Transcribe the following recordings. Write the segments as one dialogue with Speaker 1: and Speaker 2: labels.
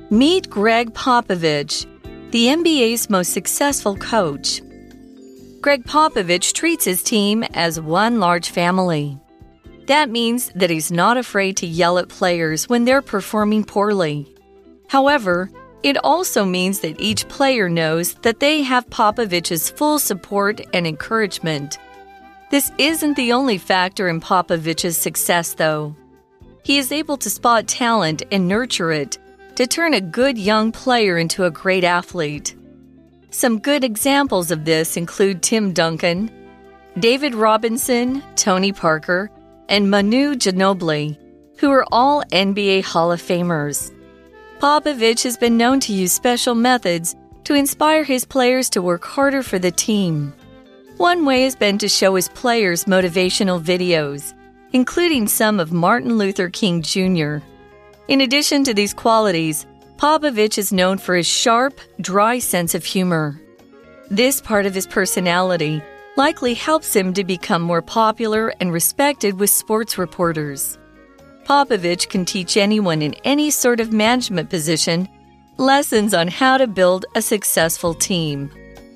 Speaker 1: Meet Greg Popovich, the NBA's most successful coach. Greg Popovich treats his team as one large family. That means that he's not afraid to yell at players when they're performing poorly. However, it also means that each player knows that they have Popovich's full support and encouragement. This isn't the only factor in Popovich's success, though. He is able to spot talent and nurture it to turn a good young player into a great athlete. Some good examples of this include Tim Duncan, David Robinson, Tony Parker, and Manu Ginobili, who are all NBA Hall of Famers. Popovich has been known to use special methods to inspire his players to work harder for the team. One way has been to show his players motivational videos, including some of Martin Luther King Jr. In addition to these qualities, Popovich is known for his sharp, dry sense of humor. This part of his personality likely helps him to become more popular and respected with sports reporters. Popovich can teach anyone in any sort of management position lessons on how to build a successful team.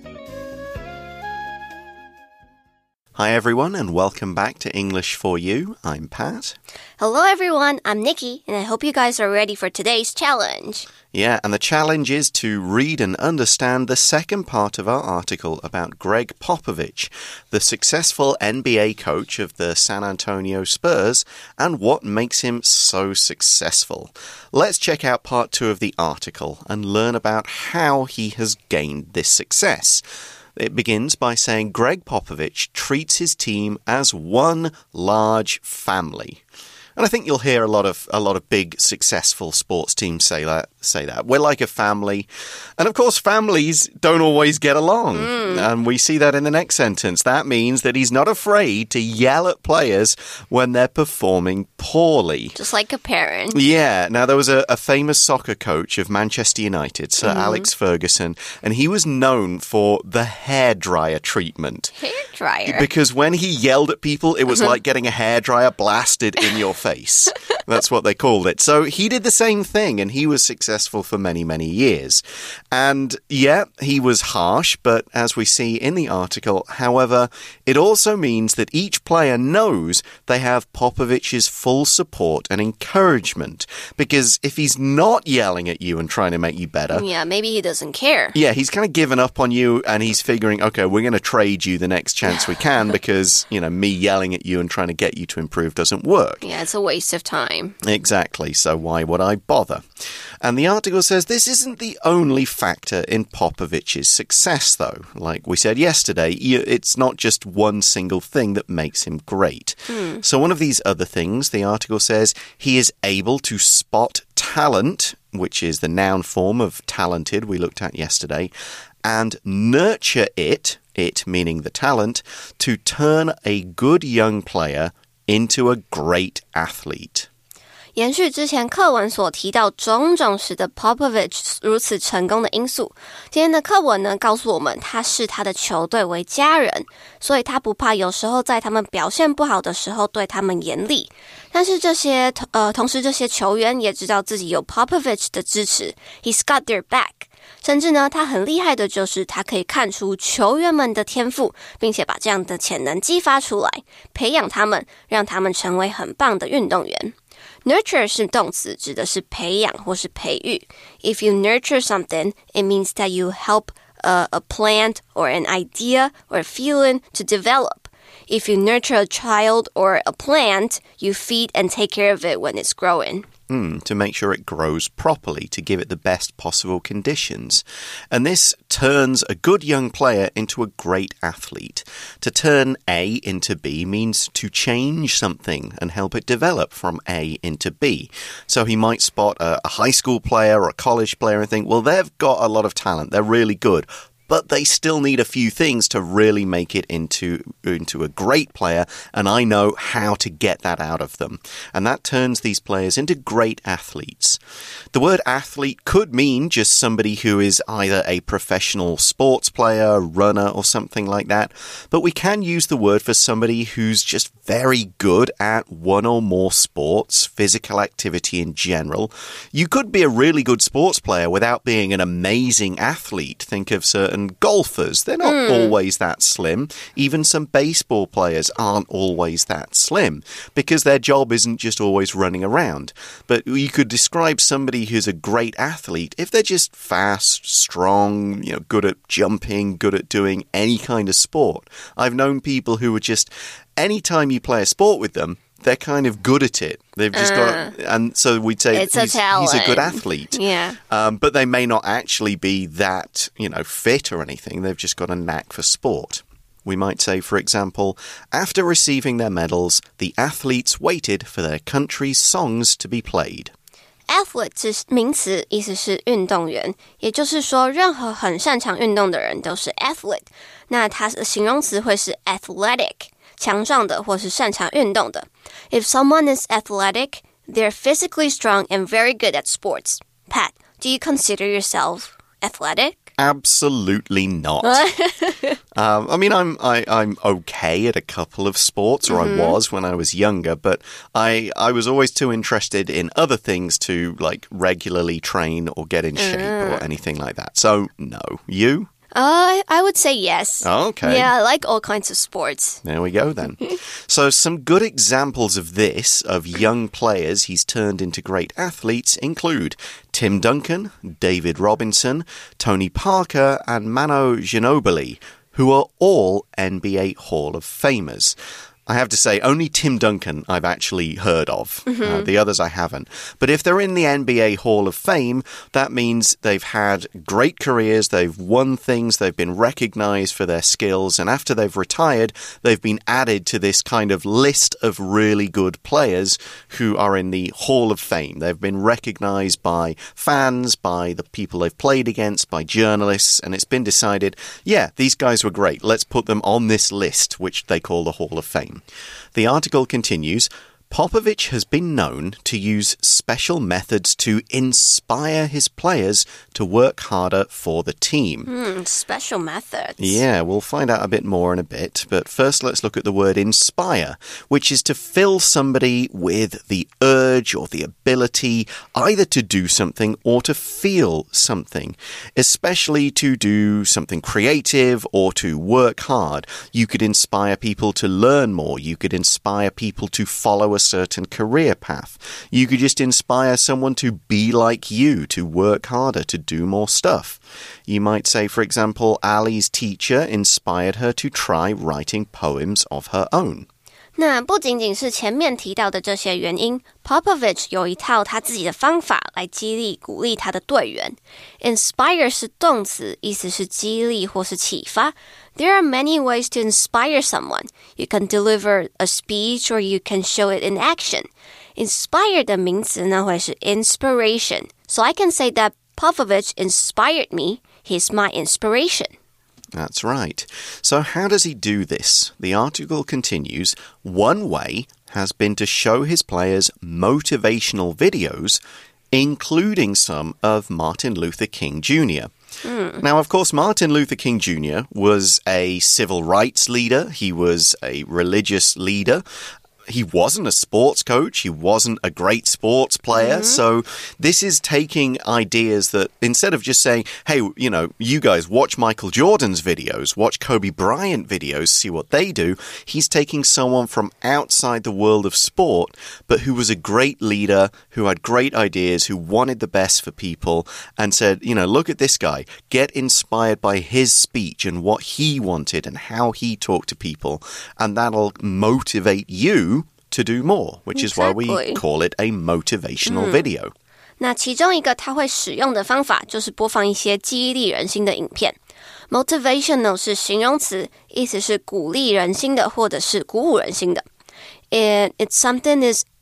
Speaker 2: Hi everyone and welcome back to English for You. I'm Pat.
Speaker 3: Hello everyone, I'm Nikki and I hope you guys are ready for today's challenge.
Speaker 2: Yeah, and the challenge is to read and understand the second part of our article about Greg Popovich, the successful NBA coach of the San Antonio Spurs, and what makes him so successful. Let's check out part 2 of the article and learn about how he has gained this success. It begins by saying Greg Popovich treats his team as one large family. And I think you'll hear a lot of big successful sports teams say that. We're like a family. And of course, families don't always get along. And we see that in the next sentence. That means that he's not afraid to yell at players when they're performing poorly.
Speaker 3: Just like a parent.
Speaker 2: Yeah. Now, there was a famous soccer coach of Manchester United, Sir Alex Ferguson, and he was known for the hairdryer treatment.
Speaker 3: Hairdryer?
Speaker 2: Because when he yelled at people, it was like getting a hairdryer blasted in your face. That's what they called it. So he did the same thing, and he was successful for many, many years. And yeah, he was harsh, but as we see in the article, however, it also means that each player knows they have Popovich's full support and encouragement. Because if he's not yelling at you and trying to make you better...
Speaker 3: Yeah, maybe he doesn't care.
Speaker 2: Yeah, he's kind of given up on you, and he's figuring, okay, we're going to trade you the next chance we can because, me yelling at you and trying to get you to improve doesn't work.
Speaker 3: Yeah, it's a waste of time.
Speaker 2: Exactly, so why would I bother? And the article says this isn't the only factor in Popovich's success, though. Like we said yesterday, it's not just one single thing that makes him great. So one of these other things, the article says, he is able to spot talent, which is the noun form of talented we looked at yesterday, and nurture it meaning the talent, to turn a good young player into a great athlete.
Speaker 3: 延續之前課文所提到種種使得 Popovich 如此成功的因素，今天的課文呢告訴我們他視他的球隊為家人，所以他不怕有時候在他們表現不好的時候對他們嚴厲，但是同時這些球員也知道自己有 Popovich 的支持 He's got their back， 甚至呢他很厲害的就是他可以看出球員們的天賦，並且把這樣的潛能激發出來，培養他們，讓他們成為很棒的運動員。Nurture 是動詞，指的是培養或是培育。If you nurture something, it means that you help a plant or an idea or a feeling to develop. If you nurture a child or a plant, you feed and take care of it when it's growing.
Speaker 2: To make sure it grows properly, to give it the best possible conditions. And this turns a good young player into a great athlete. To turn A into B means to change something and help it develop from A into B. So he might spot a high school player or a college player and think, well, they've got a lot of talent. They're really good. But they still need a few things to really make it into a great player, and I know how to get that out of them. And that turns these players into great athletes. The word athlete could mean just somebody who is either a professional sports player, runner, or something like that. But we can use the word for somebody who's just very good at one or more sports, physical activity in general. You could be a really good sports player without being an amazing athlete. Think of certain golfers. They're not always that slim. Even some baseball players aren't always that slim because their job isn't just always running around. But you could describe somebody who's a great athlete if they're just fast, strong, good at jumping, good at doing any kind of sport. I've known people who are just, anytime you play a sport with them, they're kind of good at it. They've just got, and so we'd say he's a good athlete.
Speaker 3: Yeah.
Speaker 2: But they may not actually be that, fit or anything. They've just got a knack for sport. We might say, for example, after receiving their medals, the athletes waited for their country's songs to be played.
Speaker 3: Athlete 是名詞，意思是運動員，也就是說，任何很擅長運動的人都是 athlete。那它的形容詞會是 athletic， 強壯的或是擅長運動的。If someone is athletic, they're physically strong and very good at sports. Pat, do you consider yourself athletic?
Speaker 2: Absolutely not. I mean, I'm okay at a couple of sports, or I was when I was younger, but I was always too interested in other things to regularly train or get in shape or anything like that. So, no. You?
Speaker 3: I would say yes.
Speaker 2: Oh, okay.
Speaker 3: Yeah, I like all kinds of sports.
Speaker 2: There we go then. So some good examples of this, of young players he's turned into great athletes, include Tim Duncan, David Robinson, Tony Parker, and Manu Ginobili, who are all NBA Hall of Famers. I have to say, only Tim Duncan I've actually heard of. The others I haven't. But if they're in the NBA Hall of Fame, that means they've had great careers, they've won things, they've been recognized for their skills, and after they've retired, they've been added to this kind of list of really good players who are in the Hall of Fame. They've been recognized by fans, by the people they've played against, by journalists, and it's been decided, yeah, these guys were great. Let's put them on this list, which they call the Hall of Fame. The article continues, Popovich has been known to use special methods to inspire his players to work harder for the team.
Speaker 3: Special methods.
Speaker 2: Yeah, we'll find out a bit more in a bit. But first, let's look at the word inspire, which is to fill somebody with the urge or the ability either to do something or to feel something, especially to do something creative or to work hard. You could inspire people to learn more. You could inspire people to follow a certain career path. You could just inspire someone to be like you, to work harder, to do more stuff. You might say, for example, Ali's teacher inspired her to try writing poems of her own.
Speaker 3: 那不仅仅是前面提到的这些原因 Popovich 有一套他自己的方法来激勵鼓勵他的队员 Inspire 是动詞，意思是激勵或是啟發 There are many ways to inspire someone. You can deliver a speech or you can show it in action. Inspire 的名詞呢會是 inspiration. So I can say that Popovich inspired me. He's my inspiration.That's
Speaker 2: right. So how does he do this? The article continues, one way has been to show his players motivational videos, including some of Martin Luther King Jr. Now, of course, Martin Luther King Jr. was a civil rights leader. He was a religious leader.He wasn't a sports coach. He wasn't a great sports player. So this is taking ideas that instead of just saying, hey, you guys watch Michael Jordan's videos, watch Kobe Bryant videos, see what they do. He's taking someone from outside the world of sport, but who was a great leader, who had great ideas, who wanted the best for people and said, look at this guy. Get inspired by his speech and what he wanted and how he talked to people. And that'll motivate you.To do more, which is why we call it a motivational video.
Speaker 3: 那其中一个他会使用的方法就是播放一些激勵人心的影片。Motivational 是形容詞，意思是鼓勵人心的或者是鼓舞人心的。And if something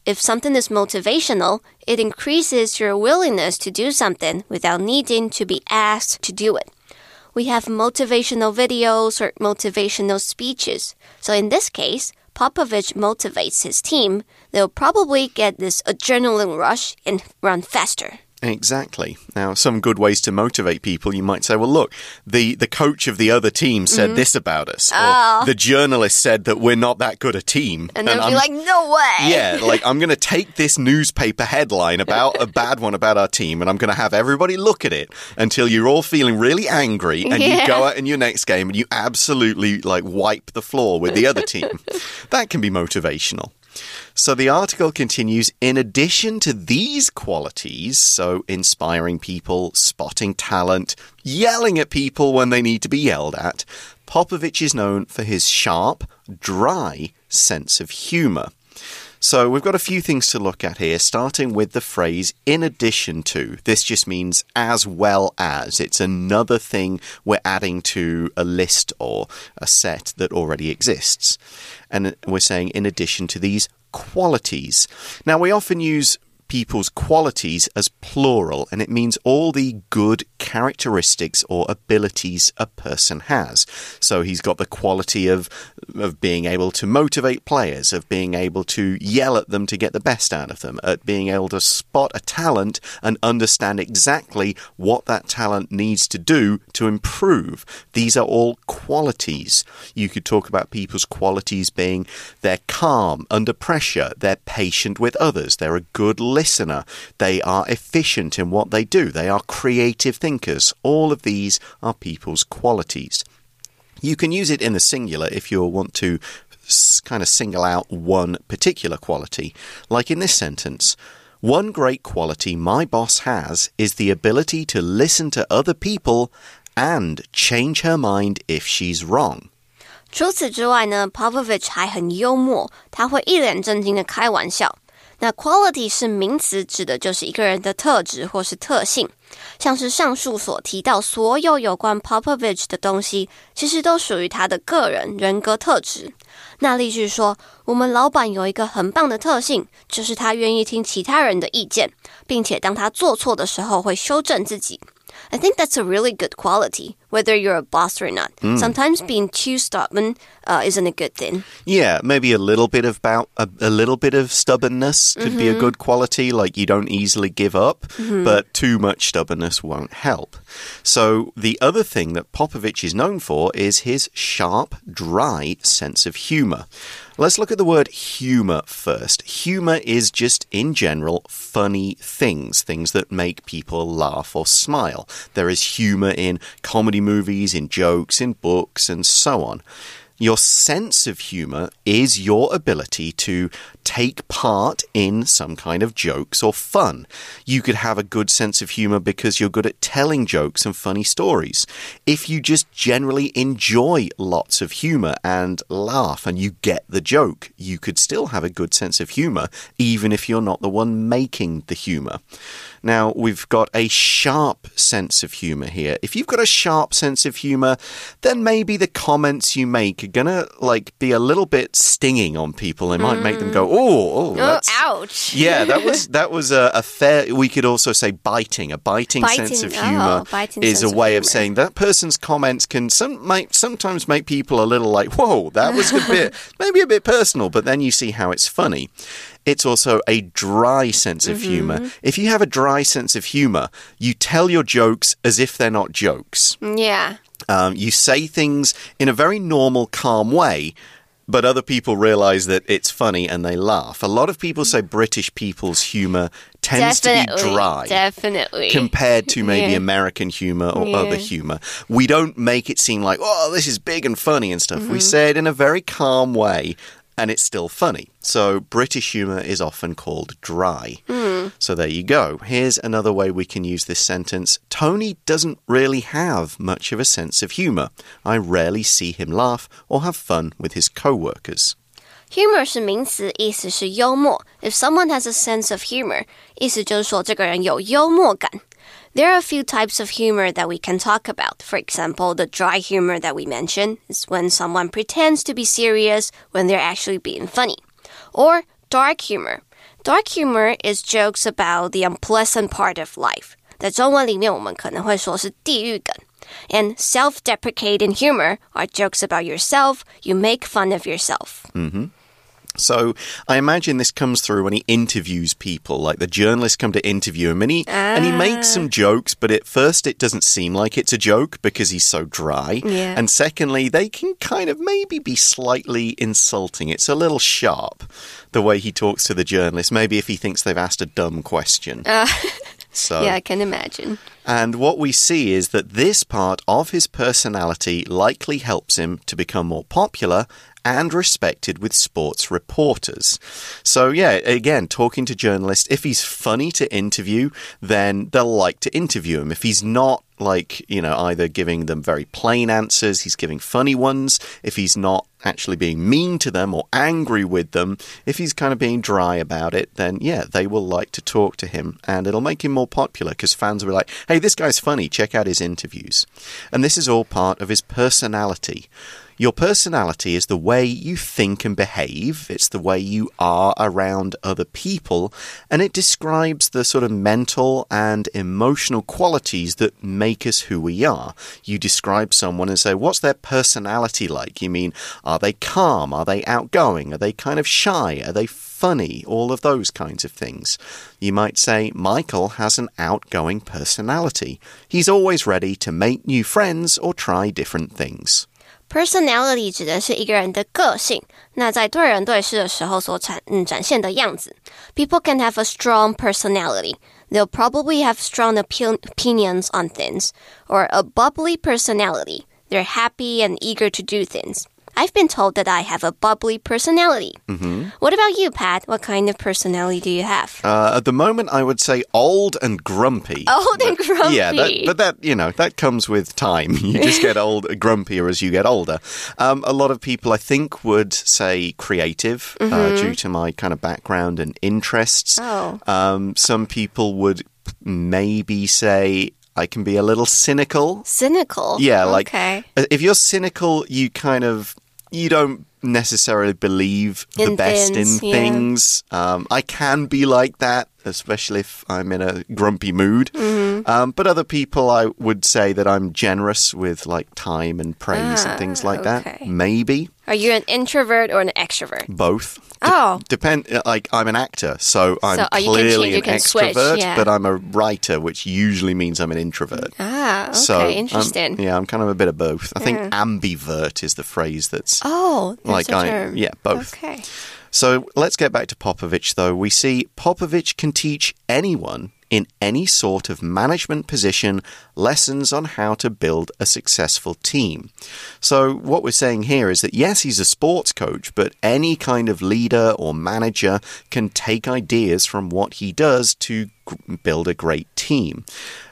Speaker 3: is motivational, it increases your willingness to do something without needing to be asked to do it.We have motivational videos or motivational speeches. So in this case, Popovich motivates his team. They'll probably get this adrenaline rush and run faster.
Speaker 2: Exactly. Now, some good ways to motivate people, you might say, well, look, the coach of the other team said this about us. Or the journalist said that we're not that good a team.
Speaker 3: And they'll be like, no way.
Speaker 2: Yeah, like, I'm going to take this newspaper headline about a bad one about our team, and I'm going to have everybody look at it until you're all feeling really angry, and you go out in your next game and you absolutely, like, wipe the floor with the other team. That can be motivational. So the article continues, in addition to these qualities, so inspiring people, spotting talent, yelling at people when they need to be yelled at, Popovich is known for his sharp, dry sense of humor. So we've got a few things to look at here, starting with the phrase in addition to. This just means as well as. It's another thing we're adding to a list or a set that already exists. And we're saying in addition to these qualities. Now, we often use people's qualities as plural, and it means all the good characteristics or abilities a person has. So he's got the quality of being able to motivate players, of being able to yell at them to get the best out of them, at being able to spot a talent and understand exactly what that talent needs to do to improve. These are all qualities. You could talk about people's qualities being they're calm under pressure, they're patient with others, they're a good listener, they are efficient in what they do, they are creative thinkers. All of these are people's qualities. You can use it in the singular if you want to kind of single out one particular quality. Like in this sentence, one great quality my boss has is the ability to listen to other people and change her mind if she's wrong.
Speaker 3: 除此之外呢 Popovich 還很幽默，他会一臉正經的開玩笑。那 quality 是名詞，指的就是一個人的特質或是特性。像是上述所提到所有有關 Popovich 的東西，其實都屬於他的個人人格特質。那例句說，我們老闆有一個很棒的特性，就是他願意聽其他人的意見，並且當他做錯的時候會修正自己。I think that's a really good quality, whether you're a boss or not. Sometimes being too stubborn isn't a good thing.
Speaker 2: Yeah, maybe a little bit of stubbornness could be a good quality, like you don't easily give up, but too much stubbornness won't help. So the other thing that Popovich is known for is his sharp, dry sense of humor. Let's look at the word humor first. Humor is just, in general, funny things that make people laugh or smile. There is humor in comedy movies, in jokes, in books, and so on. Your sense of humor is your ability to take part in some kind of jokes or fun. You could have a good sense of humor because you're good at telling jokes and funny stories. If you just generally enjoy lots of humor and laugh and you get the joke, you could still have a good sense of humor even if you're not the one making the humor. Now, we've got a sharp sense of humor here. If you've got a sharp sense of humor, then maybe the comments you make are gonna be a little bit stinging on people. It might make them go, oh, that's...
Speaker 3: ouch.
Speaker 2: Yeah, that was a fair... We could also say biting. A biting sense of humor is a way of saying that person's comments can sometimes make people a little like, whoa, that was maybe a bit personal, but then you see how it's funny. It's also a dry sense of humor. If you have a dry sense of humor, you tell your jokes as if they're not jokes.
Speaker 3: Yeah.
Speaker 2: You say things in a very normal, calm way, but other people realize that it's funny and they laugh. A lot of people say British people's humor tends to be dry.
Speaker 3: Definitely.
Speaker 2: Compared to maybe American humor or other humor. We don't make it seem like, oh, this is big and funny and stuff. We say it in a very calm way. And it's still funny. So British humor is often called dry. So there you go. Here's another way we can use this sentence. Tony doesn't really have much of a sense of humor. I rarely see him laugh or have fun with his co-workers.
Speaker 3: Humor 是名詞，意思是幽默。If someone has a sense of humor, 意思就是說這個人有幽默感。There are a few types of humor that we can talk about. For example, the dry humor that we mentioned is when someone pretends to be serious when they're actually being funny. Or dark humor. Dark humor is jokes about the unpleasant part of life. 在中文裡面我們可能會說是地獄梗。And self-deprecating humor are jokes about yourself. You make fun of yourself.
Speaker 2: So I imagine this comes through when he interviews people, like the journalists come to interview him, and he makes some jokes, but at first it doesn't seem like it's a joke because he's so dry.
Speaker 3: Yeah.
Speaker 2: And secondly, they can kind of maybe be slightly insulting. It's a little sharp, the way he talks to the journalist, maybe if he thinks they've asked a dumb question. So,
Speaker 3: yeah, I can imagine.
Speaker 2: And what we see is that this part of his personality likely helps him to become more popular and respected with sports reporters. So, yeah, again, talking to journalists, if he's funny to interview, then they'll like to interview him. If he's not, like, you know, either giving them very plain answers, he's giving funny ones. If he's not actually being mean to them or angry with them, if he's kind of being dry about it, then, yeah, they will like to talk to him. And it'll make him more popular because fans will be like, hey, this guy's funny, check out his interviews. And this is all part of his personality. Your personality is the way you think and behave. It's the way you are around other people. And it describes the sort of mental and emotional qualities that make us who we are. You describe someone and say, what's their personality like? You mean, are they calm? Are they outgoing? Are they kind of shy? Are they funny? All of those kinds of things. You might say, Michael has an outgoing personality. He's always ready to make new friends or try different things.
Speaker 3: Personality 指的是一個人的個性，那在對人對事的時候所展現的樣子。People can have a strong personality. They'll probably have strong opinions on things. Or a bubbly personality. They're happy and eager to do things. I've been told that I have a bubbly personality. What about you, Pat? What kind of personality do you have?
Speaker 2: At the moment, I would say old and grumpy.
Speaker 3: Old and grumpy.
Speaker 2: Yeah, but that, you know, that comes with time. You just get grumpier as you get older. A lot of people, I think, would say creative due to my kind of background and interests. Some people would maybe say I can be a little cynical.
Speaker 3: Cynical?
Speaker 2: Yeah,
Speaker 3: okay.
Speaker 2: Like if you're cynical, you don't necessarily believe the best in things. I can be like that, especially if I'm in a grumpy mood. But other people, I would say that I'm generous with like time and praise and things like that. Maybe.
Speaker 3: Are you an introvert or an extrovert?
Speaker 2: Both.
Speaker 3: Depend.
Speaker 2: Like I'm an actor, so I'm clearly an extrovert, but I'm a writer, which usually means I'm an introvert.
Speaker 3: Okay,
Speaker 2: so
Speaker 3: interesting.
Speaker 2: I'm kind of a bit of both. I think ambivert is the phrase that's.
Speaker 3: That's a term.
Speaker 2: Yeah, both.
Speaker 3: Okay.
Speaker 2: So let's get back to Popovich, though. We see Popovich can teach anyone in any sort of management position lessons on how to build a successful team. So what we're saying here is that, yes, he's a sports coach, but any kind of leader or manager can take ideas from what he does to build a great team.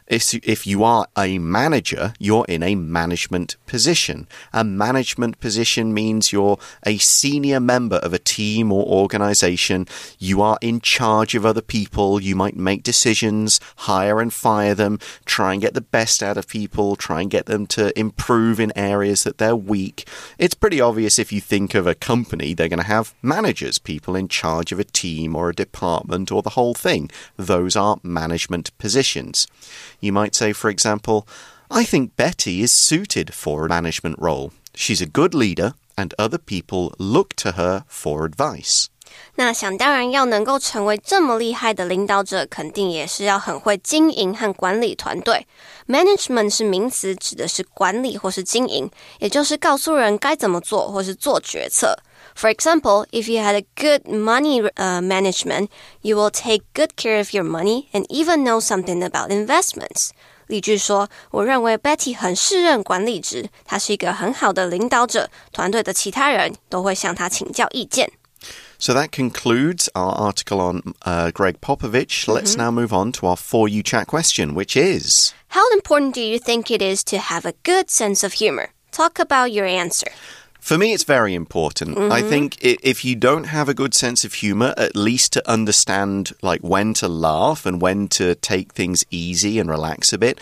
Speaker 2: If you are a manager, you're in a management position. A management position means you're a senior member of a team or organization. You are in charge of other people. You might make decisions, hire and fire them, try and get the best out of people, try and get them to improve in areas that they're weak. It's pretty obvious if you think of a company, they're going to have managers, people in charge of a team or a department or the whole thing. Those are management positions. You might say, for example, I think Betty is suited for a management role. She's a good leader, and other people look to her for advice.
Speaker 3: 那想当然要能够成为這麼厲害的領導者，肯定也是要很會經營和管理團隊。Management 是名詞，指的是管理或是經營，也就是告訴人該怎麼做或是做決策。For example, if you had a good money management, you will take good care of your money and even know something about investments. 例句說，我認為 Betty 很適任管理職，她是一個很好的領導者，團隊的其他人都會向她請教意見。
Speaker 2: So that concludes our article on Greg Popovich. Let's now move on to our For You Chat question, which is...
Speaker 3: How important do you think it is to have a good sense of humor? Talk about your answer.
Speaker 2: For me, it's very important. I think if you don't have a good sense of humor, at least to understand like when to laugh and when to take things easy and relax a bit,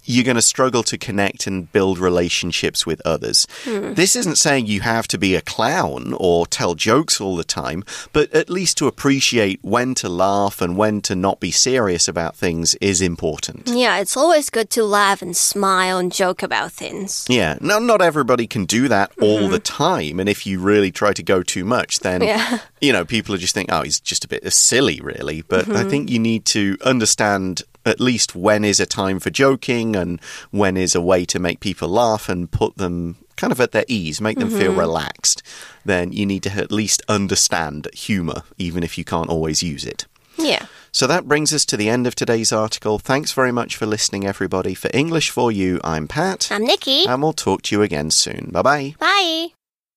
Speaker 2: you're going to struggle to connect and build relationships with others. This isn't saying you have to be a clown or tell jokes all the time, but at least to appreciate when to laugh and when to not be serious about things is important.
Speaker 3: Yeah, it's always good to laugh and smile and joke about things.
Speaker 2: Yeah, no, not everybody can do that all the time, and if you really try to go too much, then, people just think, oh, he's just a bit silly, really. But I think you need to understand at least when is a time for joking and when is a way to make people laugh and put them kind of at their ease, make them feel relaxed. Then you need to at least understand humor, even if you can't always use it.
Speaker 3: Yeah.
Speaker 2: So that brings us to the end of today's article. Thanks very much for listening, everybody. For English for You, I'm Pat.
Speaker 3: I'm Nikki.
Speaker 2: And we'll talk to you again soon. Bye-bye.
Speaker 3: Bye.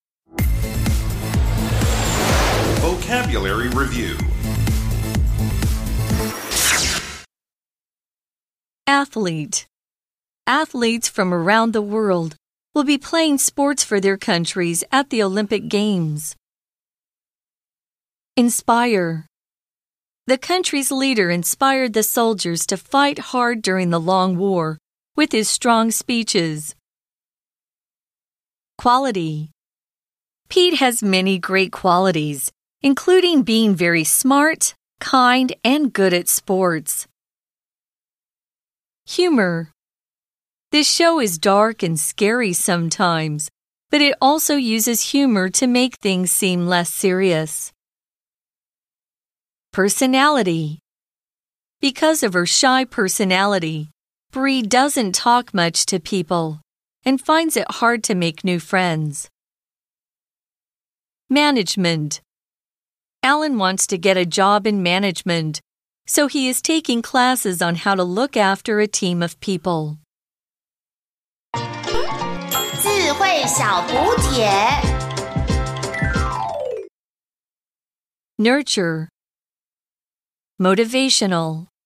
Speaker 4: Vocabulary Review.
Speaker 1: Athlete. Athletes from around the world will be playing sports for their countries at the Olympic Games. Inspire. The country's leader inspired the soldiers to fight hard during the long war with his strong speeches. Quality. Pete has many great qualities, including being very smart, kind, and good at sports. Humor. This show is dark and scary sometimes, but it also uses humor to make things seem less serious. Personality. Because of her shy personality, Bree doesn't talk much to people and finds it hard to make new friends. Management. Alan wants to get a job in management, so he is taking classes on how to look after a team of people.
Speaker 5: 智慧小补帖
Speaker 1: Nurture. Motivational.